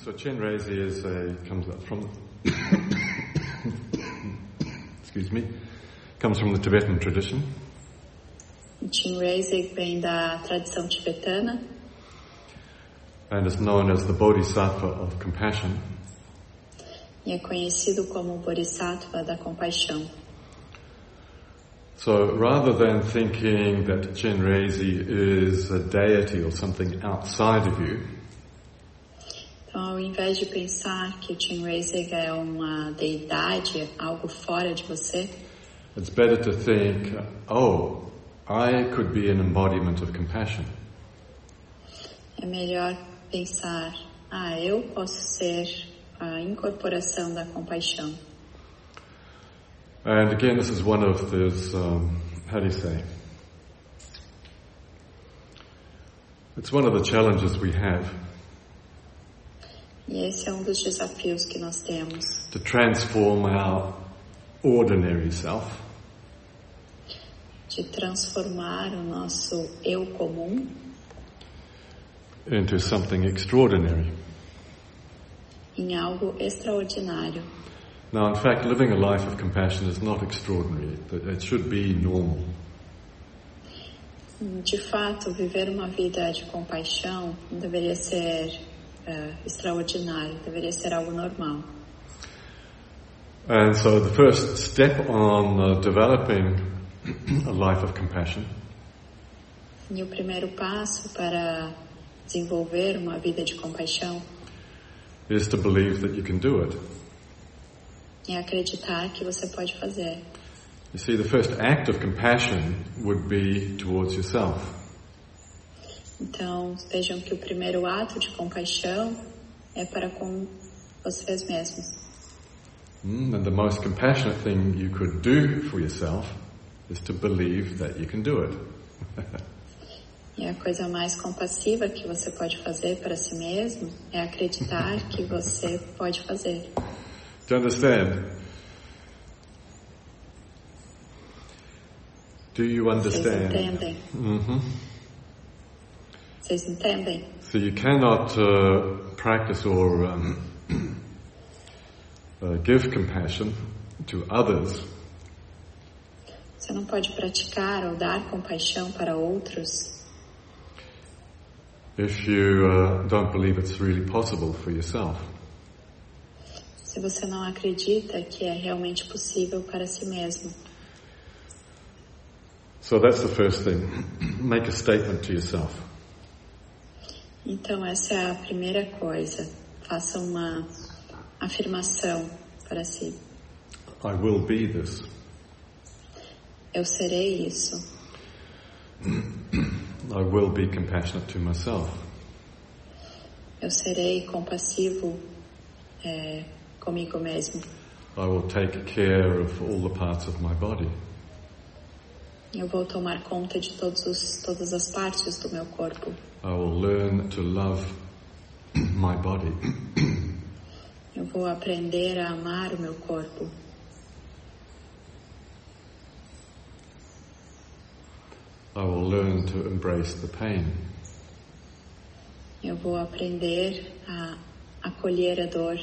So Chenrezig comes from comes from the Tibetan tradition. Chenrezig vem da tradição tibetana. And is known as the Bodhisattva of compassion. E é conhecido como o Bodhisattva da compaixão. So rather than thinking that Chenrezig is a deity or something outside of you, então, ao invés de pensar que Chenrezig é uma deidade, algo fora de você, it's better to think, oh, I could be an embodiment of compassion. É melhor pensar, eu posso ser a incorporação da compaixão. And again, this is one of those, how do you say? It's one of the challenges we have. E esse é um dos desafios que nós temos. To transform our ordinary self. De transformar o nosso eu comum. Into something extraordinary. Em algo extraordinário. Now, in fact, living a life of compassion is not extraordinary. It should be normal. De fato, viver uma vida de compaixão não deveria ser extraordinário, deveria ser algo normal. And so the first step on developing a life of compassion e o primeiro passo para desenvolver uma vida de compaixão is to believe that you can do it. É acreditar que você pode fazer. You see, the first act of compassion would be towards yourself. Então, vejam que o primeiro ato de compaixão é para com vocês mesmos. And the most compassionate thing you could do for yourself is to believe that you can do it. E a coisa mais compassiva que você pode fazer para si mesmo é acreditar que você pode fazer. Do you understand? Do you understand? Vocês entendem? Mm-hmm. Vocês entendem? So you cannot practice or give compassion to others. Você não pode praticar ou dar compaixão para outros if you don't believe it's really possible for yourself. Se você não acredita que é realmente possível para si mesmo. So that's the first thing. Make a statement to yourself. Então essa é a primeira coisa. Faça uma afirmação para si. I will be this. Eu serei isso. I will be compassionate to myself. Eu serei compassivo comigo mesmo. I will take care of all the parts of my body. Eu vou tomar conta de todas as partes do meu corpo. I will learn to love my body. Eu vou aprender a amar o meu corpo. I will learn to embrace the pain. Eu vou aprender a acolher a dor.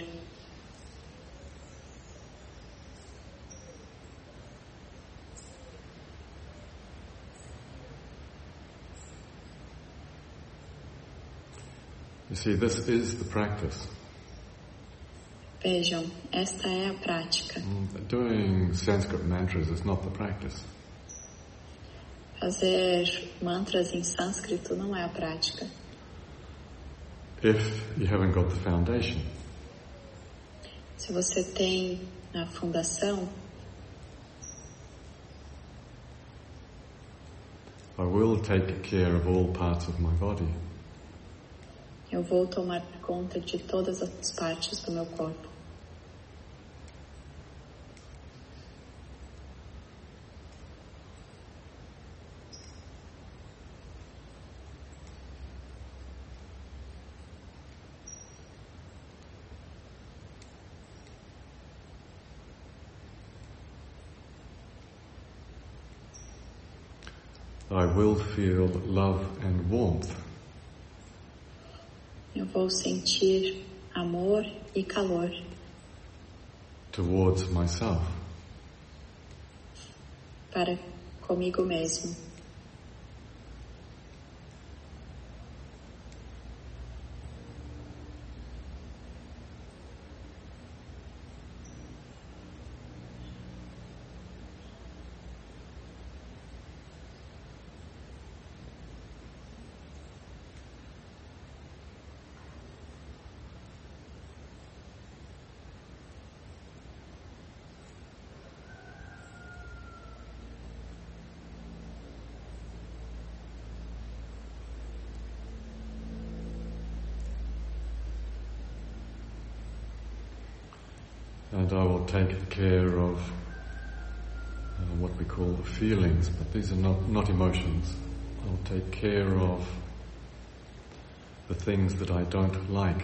You see, this is the practice. Vejam, esta é a prática. Doing Sanskrit mantras is not the practice. Fazer mantras em sânscrito não é a prática. If you haven't got the foundation. Se você tem a fundação, I will take care of all parts of my body. Eu vou tomar conta de todas as partes do meu corpo. I will feel love and warmth. Eu vou sentir amor e calor towards myself. Para comigo mesmo. And I will take care of what we call feelings, but these are not emotions. I'll take care of the things that I don't like.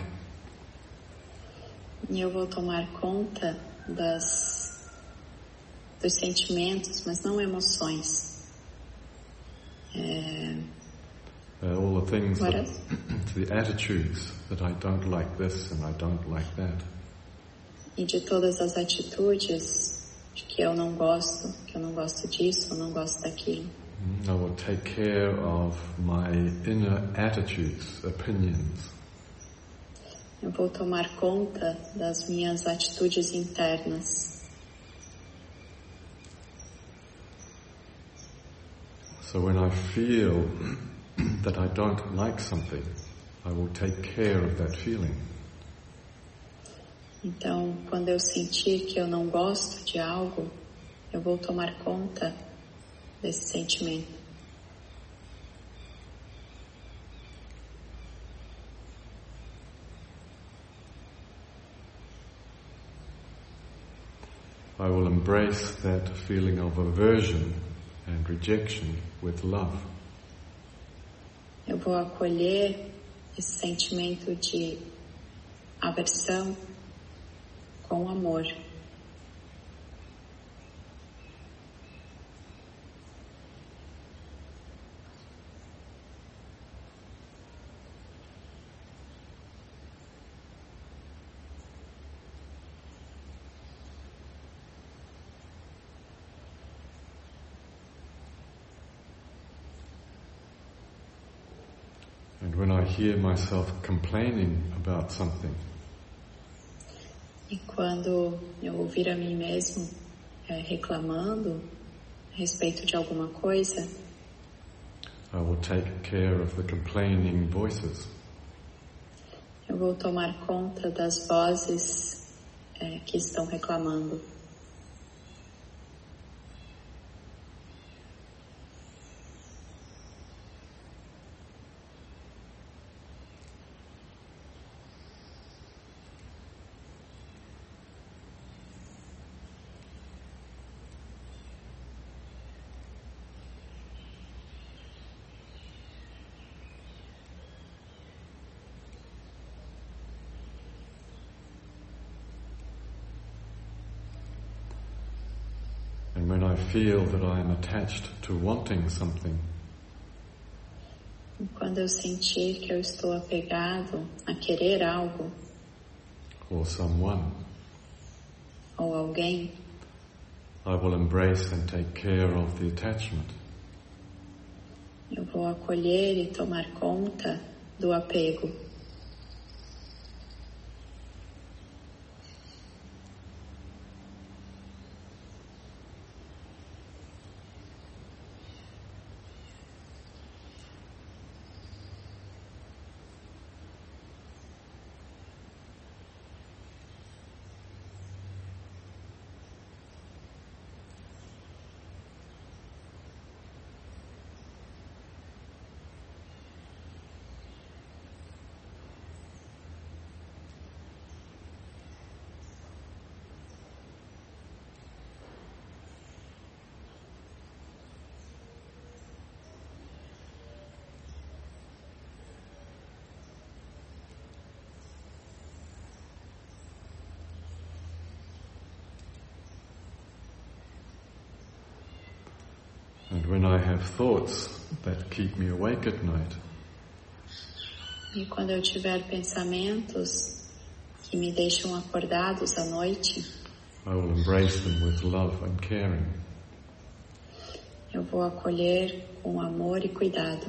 E eu vou tomar conta dos sentimentos, mas não emoções. All the things, the attitudes that I don't like this and I don't like that. E de todas as atitudes de que eu não gosto disso, eu não gosto daquilo. I will take care of my inner attitudes, opinions. Eu vou tomar conta das minhas atitudes internas. So when I feel that I don't like something, I will take care of that feeling. Então, quando eu sentir que eu não gosto de algo, eu vou tomar conta desse sentimento. I will embrace that feeling of aversion and rejection with love. Eu vou acolher esse sentimento de aversão com amor. And when I hear myself complaining about something, e quando eu ouvir a mim mesmo reclamando a respeito de alguma coisa, I will take care of the complaining voices. Eu vou tomar conta das vozes que estão reclamando. And when I feel that I am attached to wanting something, E quando eu sentir que eu estou apegado a querer algo or someone, ou alguém, I will embrace and take care of the attachment. eu vou acolher e tomar conta do apego. And when I have thoughts that keep me awake at night, E quando eu tiver pensamentos que me deixam acordados à noite, I will embrace them with love and caring. eu vou acolher com amor e cuidado.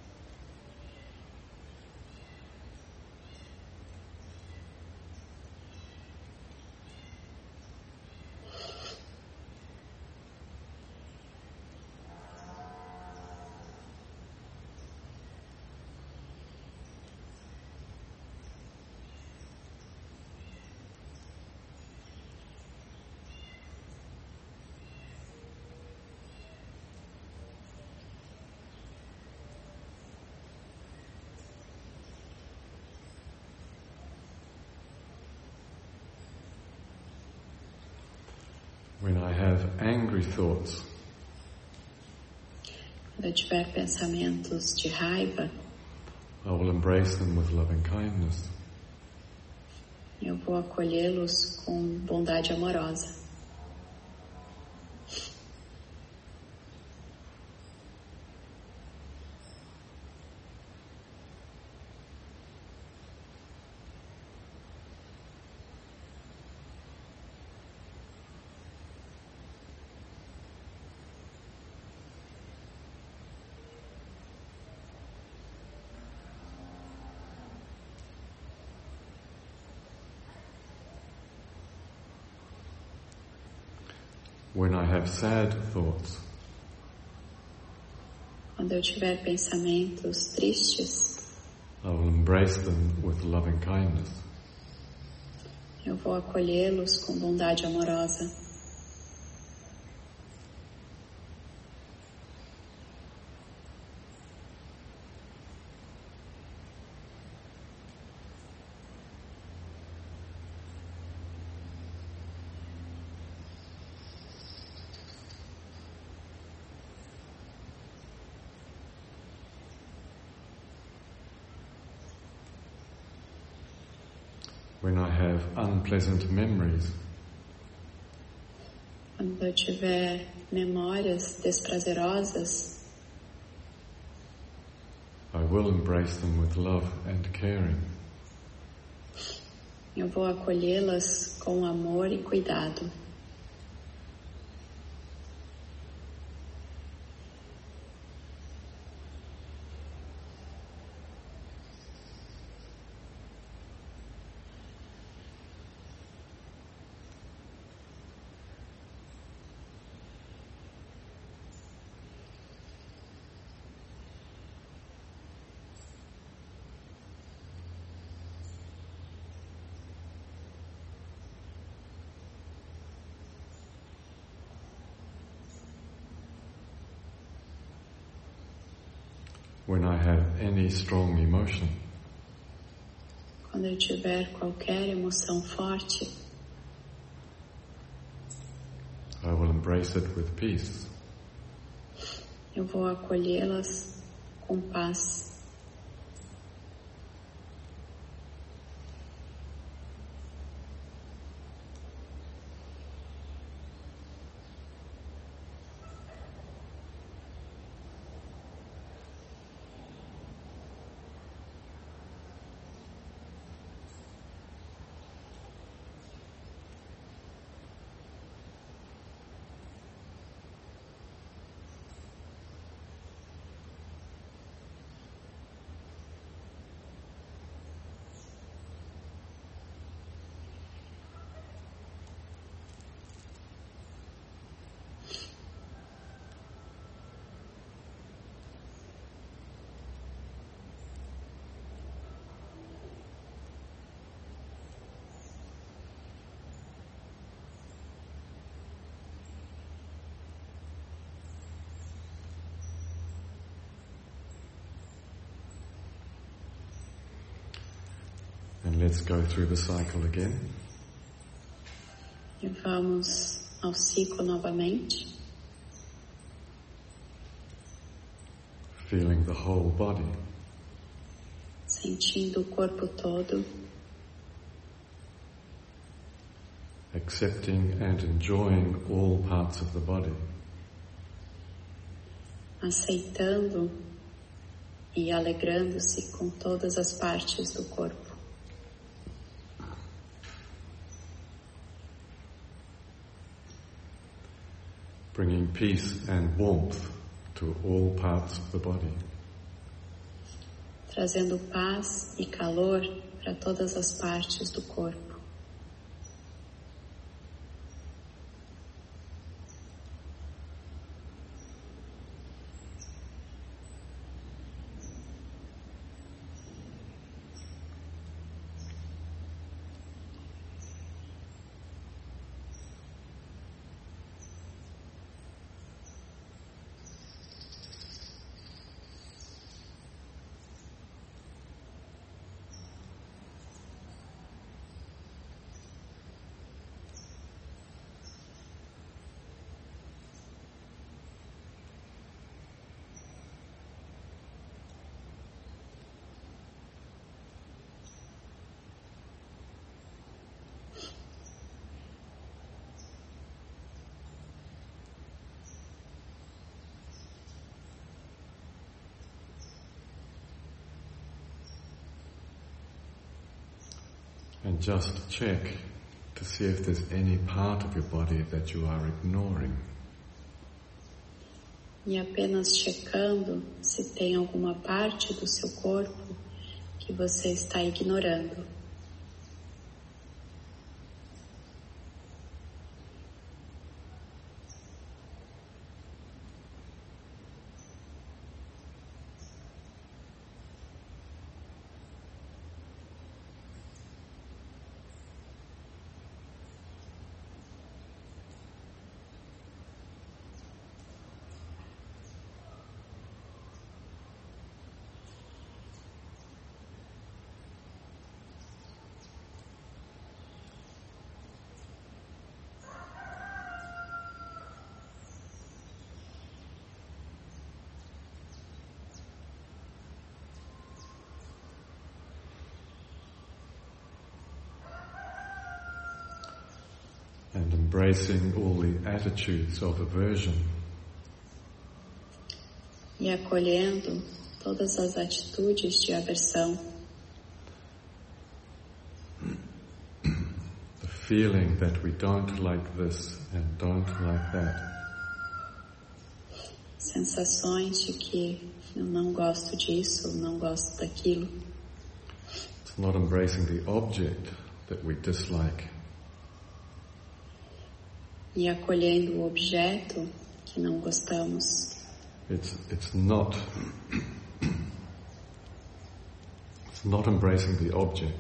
When I have angry thoughts, Quando eu tiver pensamentos de raiva, I will embrace them with loving kindness. eu vou acolhê-los com bondade amorosa. When I have sad thoughts, Quando eu tiver pensamentos tristes, I will embrace them with loving kindness. eu vou acolhê-los com bondade amorosa. When I have unpleasant memories, Quando eu tiver memórias desprazerosas, I will embrace them with love and caring. eu vou acolhê-las com amor e cuidado. When I have any strong emotion, Quando eu tiver qualquer emoção forte, I will embrace it with peace. eu vou acolhê-las com paz. And let's go through the cycle again. E vamos ao ciclo novamente, Feeling the whole body, sentindo o corpo todo, accepting and enjoying all parts of the body. aceitando e alegrando-se com todas as partes do corpo. bringing peace and warmth to all parts of the body. Trazendo paz e calor para todas as partes do corpo. And just check to see if there's any part of your body that you are ignoring. E apenas checando se tem alguma parte do seu corpo que você está ignorando. And embracing all the attitudes of aversion. E acolhendo todas as atitudes de aversão. The feeling that we don't like this and don't like that. Sensações de que eu não gosto disso, não gosto daquilo. It's not embracing the object that we dislike. E acolhendo o objeto que não gostamos. It's not embracing the object.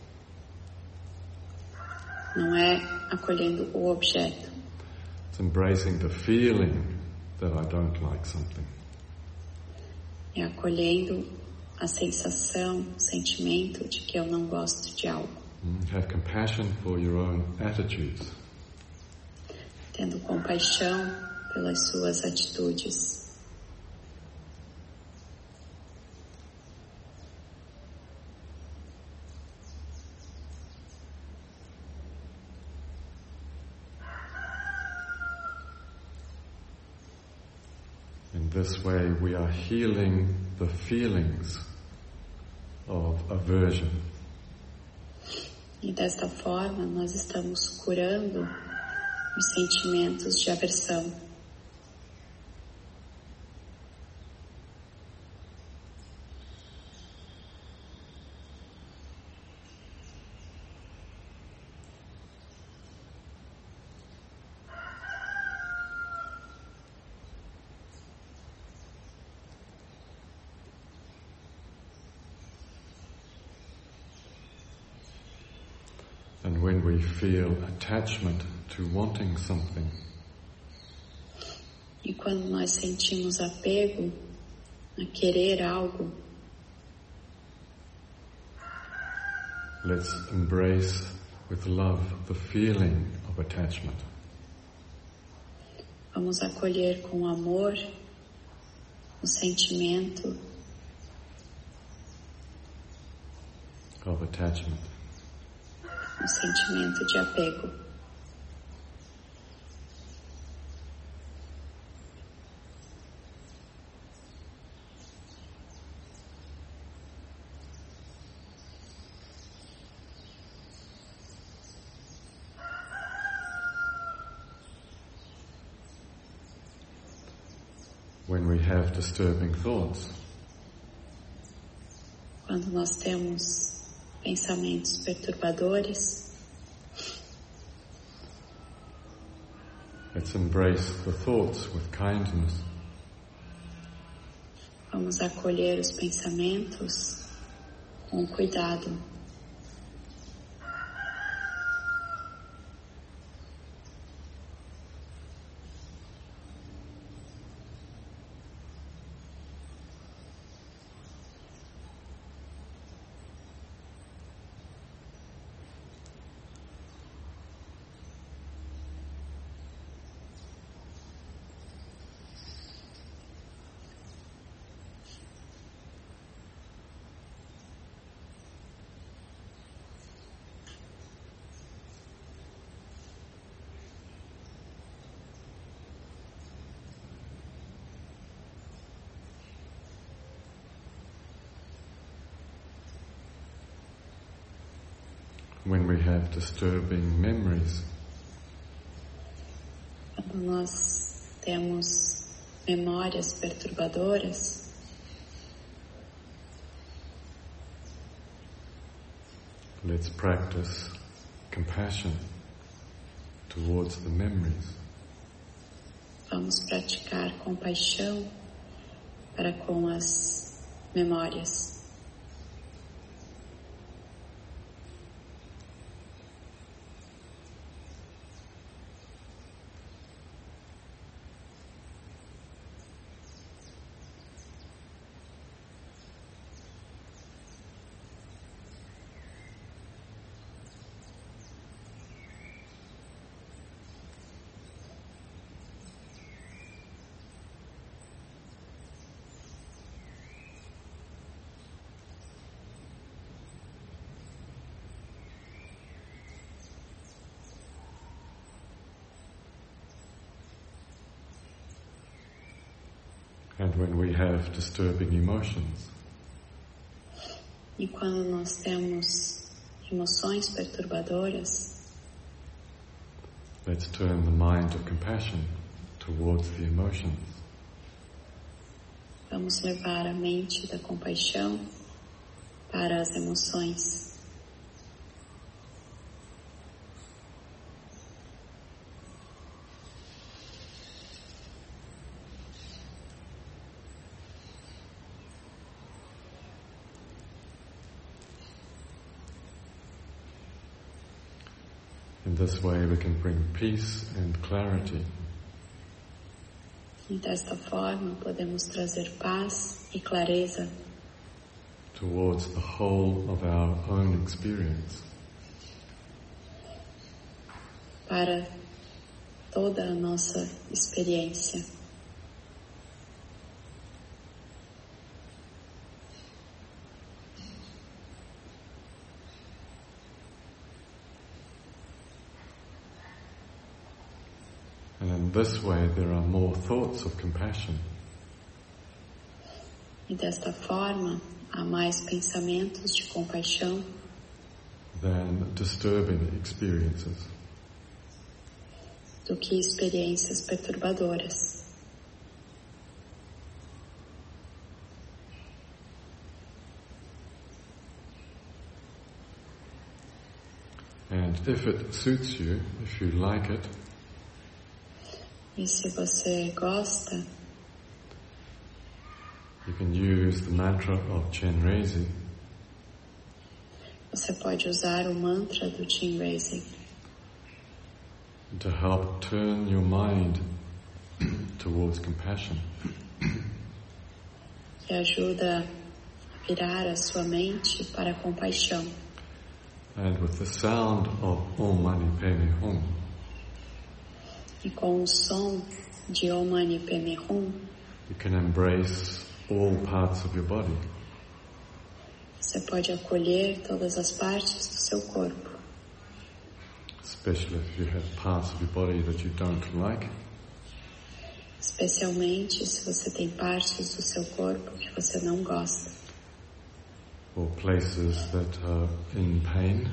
Não é acolhendo o objeto. It's embracing the feeling that I don't like something. É acolhendo a sensação, o sentimento de que eu não gosto de algo. Have compassion for your own attitudes. Tendo compaixão pelas suas atitudes. In this way we are healing the feelings of aversion. E desta forma nós estamos curando os sentimentos de aversão. And when we feel attachment to wanting something, e quando nós sentimos apego a querer algo, let's embrace with love the feeling of attachment. Vamos acolher com amor o sentimento of attachment. O sentimento de apego. when we have disturbing thoughts. Quando nós temos pensamentos perturbadores, let's embrace the thoughts with kindness. vamos acolher os pensamentos com cuidado. When we have disturbing memories, Quando nós temos memórias perturbadoras, let's practice compassion towards the memories. vamos praticar compaixão para com as memórias. And when we have disturbing emotions, E quando nós temos emoções perturbadoras, let's turn the mind of compassion towards the emotions. vamos levar a mente da compaixão para as emoções. In this way we can bring peace and clarity E desta forma podemos trazer paz e clareza towards the whole of our own experience. para toda a nossa experiência. And in this way there are more thoughts of compassion E desta forma há mais pensamentos de compaixão than disturbing experiences. do que experiências perturbadoras. And if it suits you, if you like it, E se você gosta, you can use the mantra of Chenrezig você pode usar o mantra do Chenrezig to help turn your mind towards compassion. que ajuda a virar a sua mente para a compaixão. And with the sound of Om Mani Padme Hum, E com o som de Om Mani Padme Hum, you can embrace all parts of your body. você pode acolher todas as partes do seu corpo, Especially if you have parts of your body that you don't like, especialmente se você tem partes do seu corpo que você não gosta, or places that are in pain,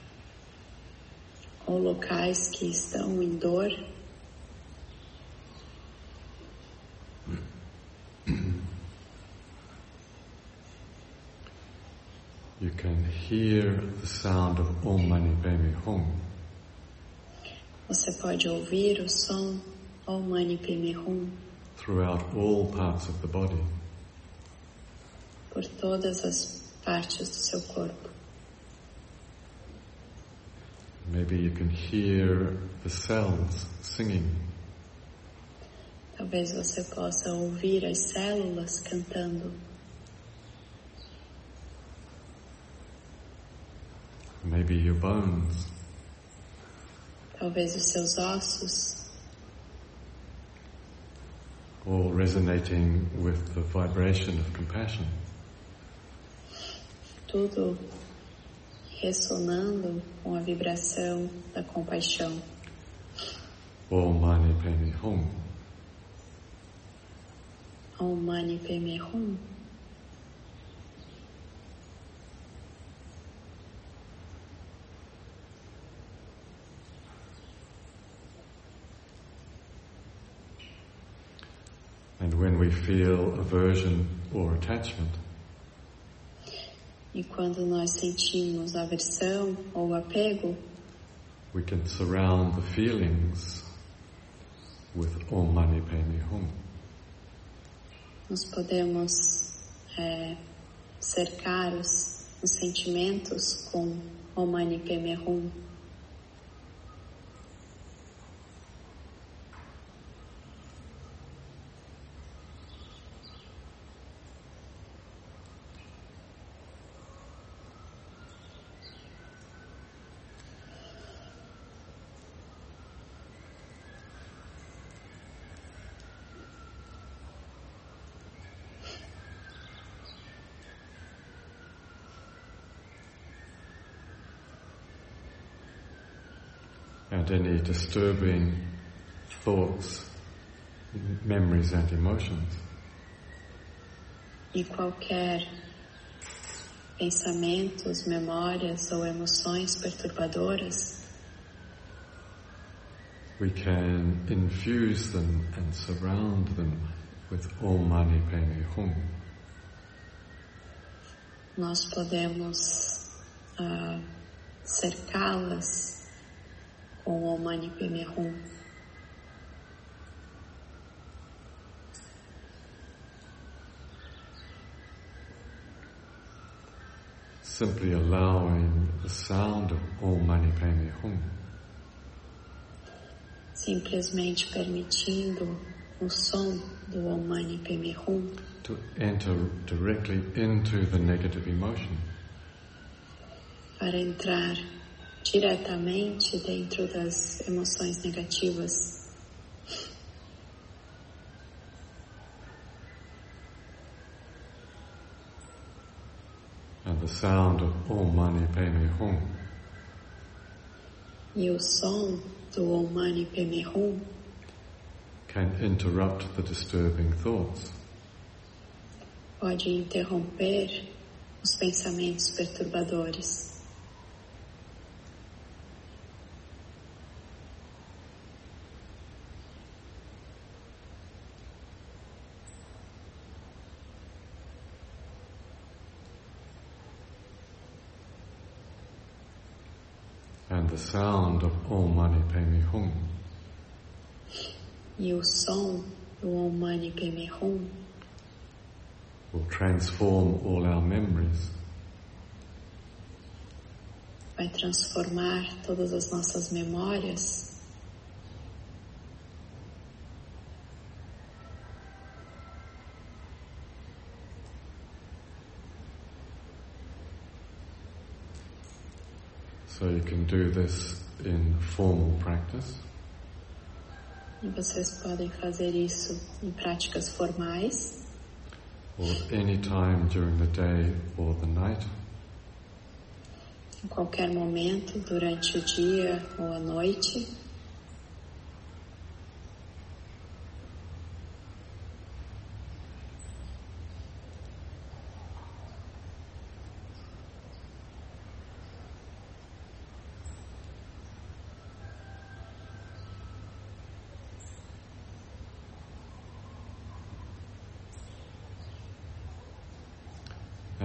ou locais que estão em dor. you can hear the sound of Om Mani Padme Hum. Você pode ouvir o som Om Mani Padme Hum Throughout all parts of the body. por todas as partes do seu corpo. Maybe you can hear the cells singing. Talvez você possa ouvir as células cantando. Maybe your bones. Talvez os seus ossos, All resonating with the vibration of compassion. tudo ressonando com a vibração da compaixão. Om Mani Padme Hum. Om Mani Padme Hum. And when we feel aversion or attachment, E quando nós sentimos aversão ou apego, we can surround the feelings with Om Mani Padme Hum. nós podemos cercar os sentimentos com Om Mani Padme Hum. And any disturbing thoughts, memories and emotions, E qualquer pensamentos, memórias ou emoções perturbadoras, we can infuse them and surround them with Om Mani Padme Hum. nós podemos cercá-las com Om Mani Padme Hum. Simply allowing the sound of Om Mani Padme Hum Simplesmente permitindo o som do Om Mani Padme Hum to enter directly into the negative emotion. para entrar diretamente dentro das emoções negativas. And the sound of Om Mani Padme Hum E o som do Om Mani Padme Hum can interrupt the disturbing thoughts. pode interromper os pensamentos perturbadores. And the sound of Om Mani Padme Hum E o som do Om Mani Padme Hum will transform all our memories vai transformar todas as nossas memórias So you can do this in formal practice, e vocês podem fazer isso em práticas formais or any time during the day or the night. em qualquer momento durante o dia ou a noite.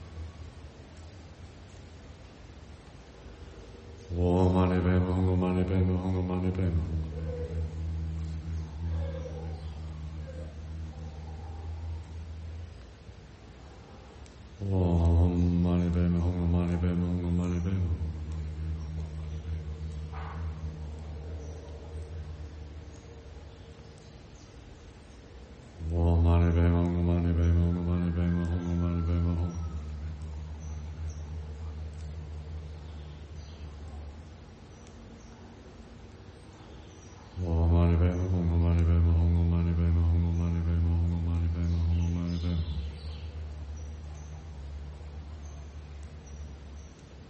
Om Mani Padme Hum Mani Padme Hum Mani Padme. Om Mani Padme Hum Mani Padme Hum Mani Padme. Om Mani Padme Hum Mani Padme Hum Mani Padme Hum Mani Padme Hum. Om Mani Padme Hum Mani Padme Hum Mani Padme Hum Mani Padme Hum Mani Padme Hum Mani Padme.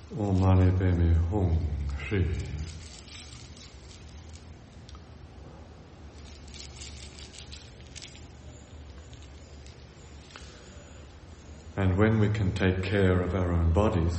Om Mani Padme Hum Shri. And when we can take care of our own bodies,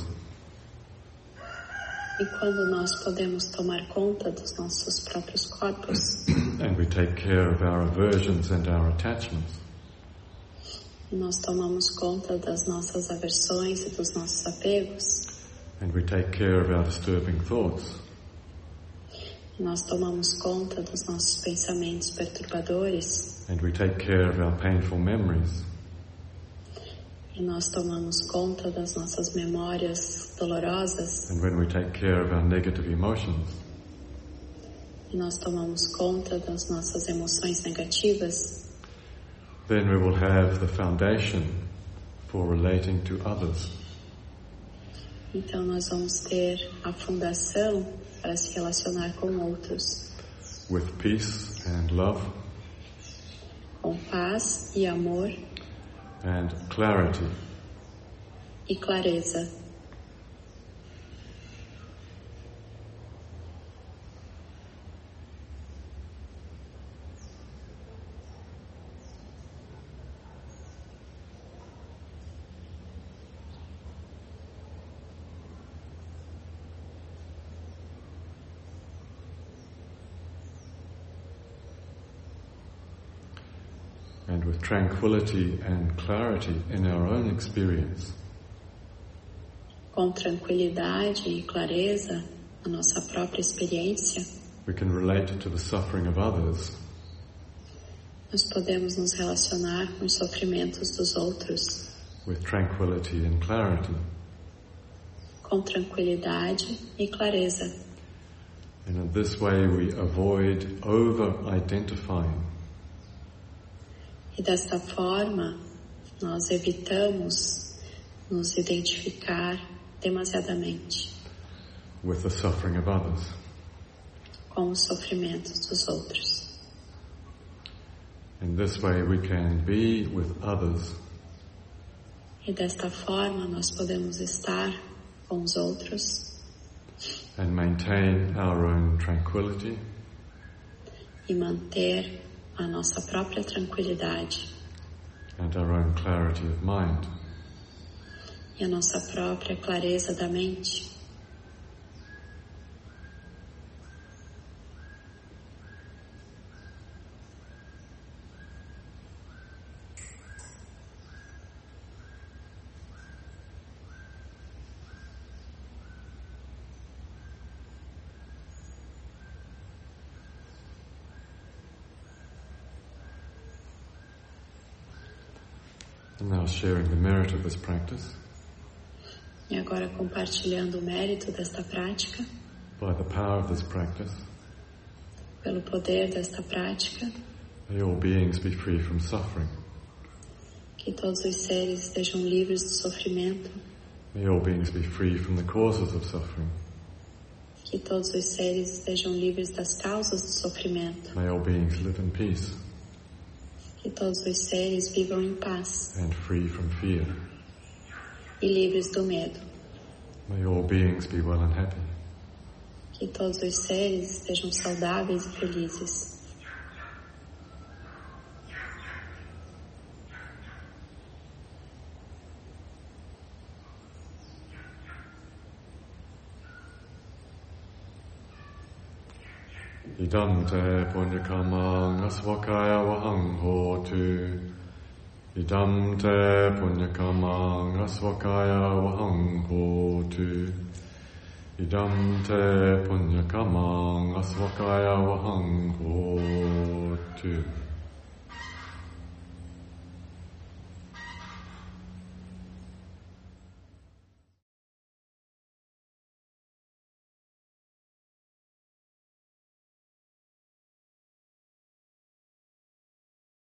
e quando nós podemos tomar conta dos nossos próprios corpos, and we take care of our aversions and our attachments, e nós tomamos conta das nossas aversões e dos nossos apegos, and we take care of our disturbing thoughts, e nós tomamos conta dos nossos pensamentos perturbadores, and we take care of our painful memories, e nós tomamos conta das nossas memórias dolorosas, and when we take care of our negative emotions, e nós tomamos conta das nossas emoções negativas, then we will have the foundation for relating to others. Então nós vamos ter a fundação para se relacionar com outros, with peace and love com paz e amor and clarity. e clareza. And with tranquility and clarity in our own experience, Com tranquilidade e clareza na nossa própria experiência, we can relate to the suffering of others nós podemos nos relacionar com os sofrimentos dos outros with tranquility and clarity. com tranquilidade e clareza. And in this way we avoid over-identifying E desta forma, nós evitamos nos identificar demasiadamente with the suffering of others. com os sofrimentos dos outros. In this way we can be with others E desta forma, nós podemos estar com os outros and maintain our own tranquility e manter a nossa própria tranquilidade and our own clarity of mind. e a nossa própria clareza da mente. And now sharing the merit of this practice, E agora compartilhando o mérito desta prática, by the power of this practice, pelo poder desta prática, may all beings be free from suffering. que todos os seres estejam livres do sofrimento, May all beings be free from the causes of suffering. que todos os seres estejam livres das causas do sofrimento, May all beings live in peace que todos os seres vivam em paz and free from fear. e livres do medo, May all beings be well and happy. que todos os seres estejam saudáveis e felizes. Idam te punyakamang asvakaya vahang hotu. Idam te punyakamang asvakaya vahang hotu. Idam te punyakamang asvakaya vahang hotu.